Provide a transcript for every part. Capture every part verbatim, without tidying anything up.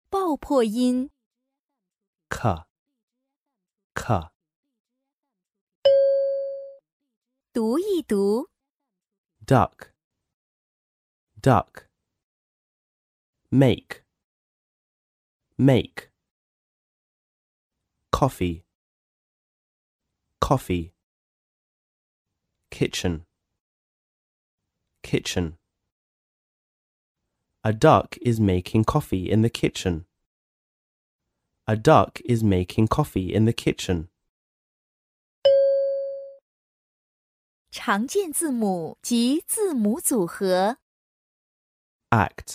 爆破音 k, k. 读一读 Duck, duck. Make, make. Coffee, coffee. Kitchen, kitchen. A duck is making coffee in the kitchen. A duck is making coffee in the kitchen. 常见字母及字母组合 Act,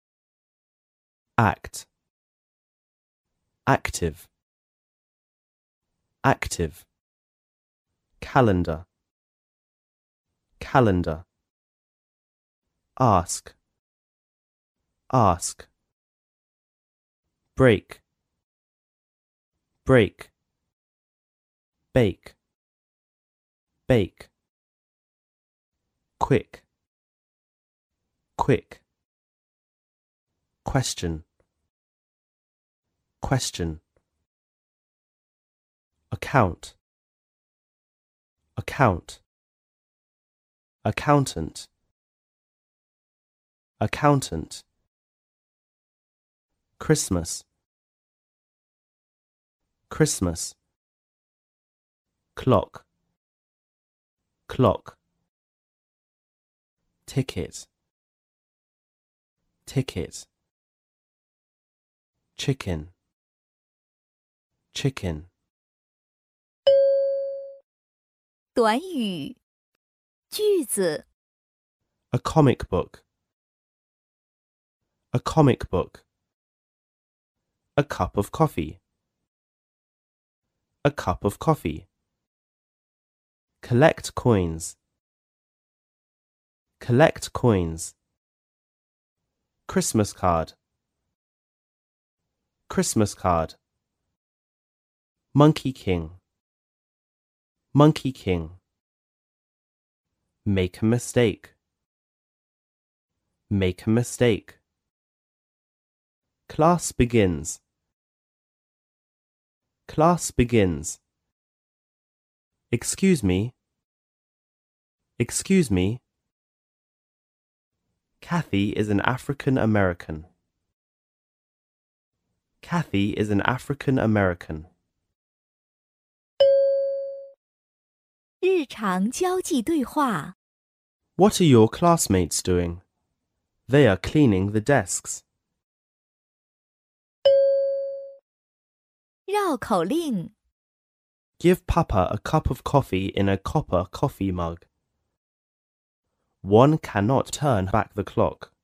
act. Active, active. Calendar, calendar. Ask, ask. Break, break. Bake, bake. Quick, quick. Question, question. Account, account. Accountant, accountant. Christmas, Christmas. Clock, clock. Ticket, ticket. Chicken, chicken. 短语句子 A comic book, a comic book. A cup of coffee, a cup of coffee. Collect coins, collect coins. Christmas card, Christmas card. Monkey King, Monkey King. Make a mistake, make a mistake. Class begins, class begins. Excuse me, excuse me. Kathy is an African American. Kathy is an African American. 日常交际对话 What are your classmates doing? They are cleaning the desks. 绕口令 Give Papa a cup of coffee in a copper coffee mug. One cannot turn back the clock.